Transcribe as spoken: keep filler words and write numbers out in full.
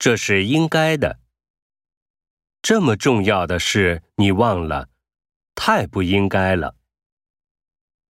这是应该的。这么重要的事你忘了，太不应该了。